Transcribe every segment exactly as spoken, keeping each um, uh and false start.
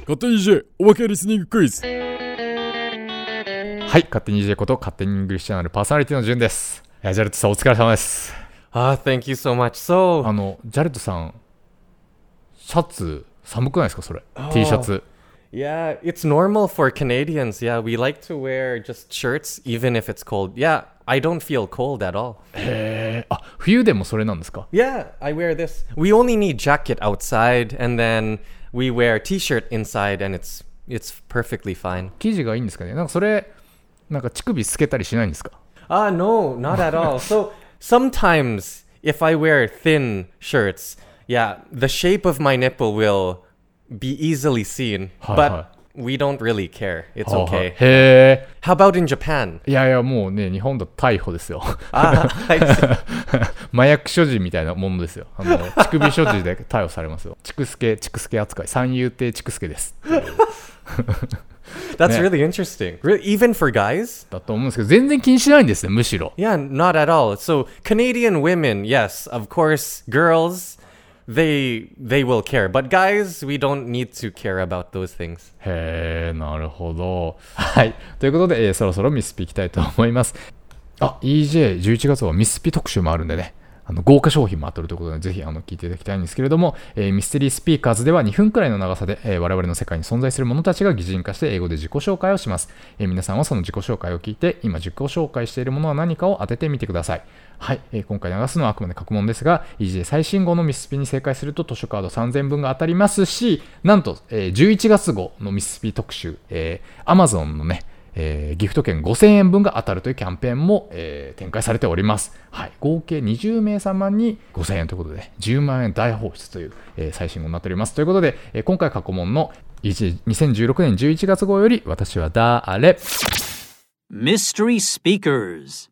勝手に イージェー おまけリスニングクイズ。はい、勝手に イージェー こと勝手にイングリッシュチャンネルパーソナリティのジュンです。ジャレットさんお疲れ様です。 Ah, thank you so much. So, あのジャレットさんシャツ寒くないですかそれ、oh, T シャツ。 Yeah, it's normal for Canadians. Yeah, we like to wear just shirts even if it's cold. Yeah, I don't feel cold at all. へー、あ、冬でもそれなんですか？ Yeah, I wear this. We only need jacket outside and then we wear t-shirt inside and it's it's perfectly fine. 生地がいいんですかね。なんかそれなんか乳首透けたりしないんですか？ Ah, no, not at all. So sometimes if I wear thin shirts, yeah, the shape of my nipple will be easily seen, but we don't really care. It's okay. へー。 How about in Japan? いやいやもうね日本だと逮捕ですよ。 あ、 麻薬所持みたいなものですよ。あの乳首所持で逮捕されますよ。チクスケチクスケ扱い、三遊亭チクスケです。 That's really interesting. Really, even for guys? だと思うんですけど全然気にしないんですねむしろ。 Yeah, not at all. So Canadian women, yes, of course, girls, they they will care, but guys, we don't need to care about those things. へー、なるほど。はい、ということで、えー、そろそろミスピいきたいと思います。あ、イージェーじゅういちがつはミスピ特集もあるんでね。あの豪華商品も当たるということでぜひあの聞いていただきたいんですけれども、えー、ミステリースピーカーズではにふんくらいの長さで、えー、我々の世界に存在する者たちが擬人化して英語で自己紹介をします。えー、皆さんはその自己紹介を聞いて今自己紹介しているものは何かを当ててみてください。はい、えー、今回流すのはあくまで過去問ですが イージェー 最新号のミスピに正解すると図書カードさんぜんぶんが当たりますし、なんと、えー、じゅういちがつ号のミスピ特集、えー、Amazon のねえー、ギフト券ごせんえんぶんが当たるというキャンペーンも、えー、展開されております。はい、合計にじゅうめいさまにごせんえんということでじゅうまんえん大放出という、えー、最新号になっております。ということで、えー、今回過去問のにせんじゅうろくねんじゅういちがつ号より私は誰 Mystery Speakers.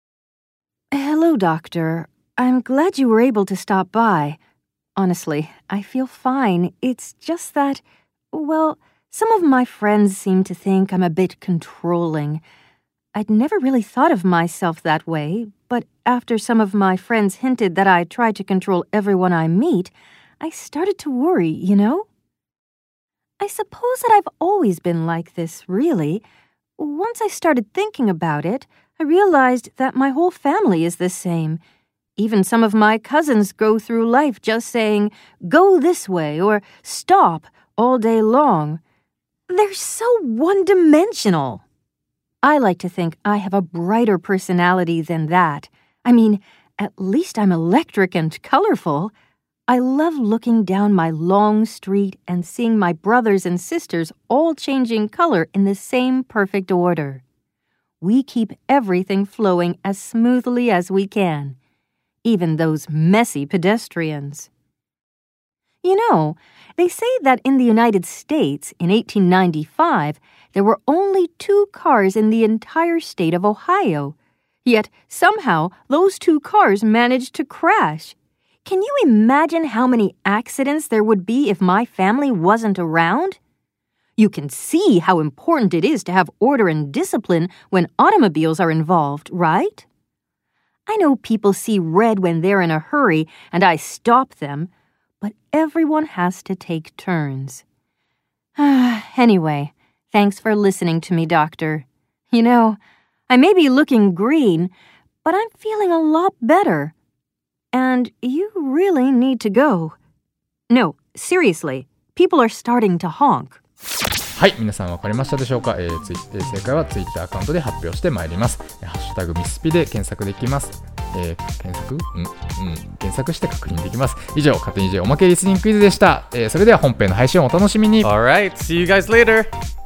Hello, Doctor. I'm glad you were able to stop by. Honestly, I feel fine. It's just that, well,Some of my friends seem to think I'm a bit controlling. I'd never really thought of myself that way, but after some of my friends hinted that I try to control everyone I meet, I started to worry, you know? I suppose that I've always been like this, really. Once I started thinking about it, I realized that my whole family is the same. Even some of my cousins go through life just saying, "Go this way," or "Stop," all day long.They're so one-dimensional. I like to think I have a brighter personality than that. I mean, at least I'm electric and colorful. I love looking down my long street and seeing my brothers and sisters all changing color in the same perfect order. We keep everything flowing as smoothly as we can, even those messy pedestrians.You know, they say that in the United States, in eighteen ninety-five, there were only two cars in the entire state of Ohio. Yet, somehow, those two cars managed to crash. Can you imagine how many accidents there would be if my family wasn't around? You can see how important it is to have order and discipline when automobiles are involved, right? I know people see red when they're in a hurry, and I stop them.But everyone has to take turns. Anyway, thanks for listening to me, Doctor. You know, I may be looking green, but I'm feeling a lot better. And you really need to go. No, seriously, people are starting to honk. はい、皆さん分かりましたでしょうか、えー、ツイえー、正解はツイッターアカウントで発表してまいります。ハッシュタグミスピで検索できます。えー、検索うんうん検索して確認できます。以上、勝手に イージェー おまけリスニングクイズでした。えー、それでは本編の配信をお楽しみに。 Alright, see you guys later!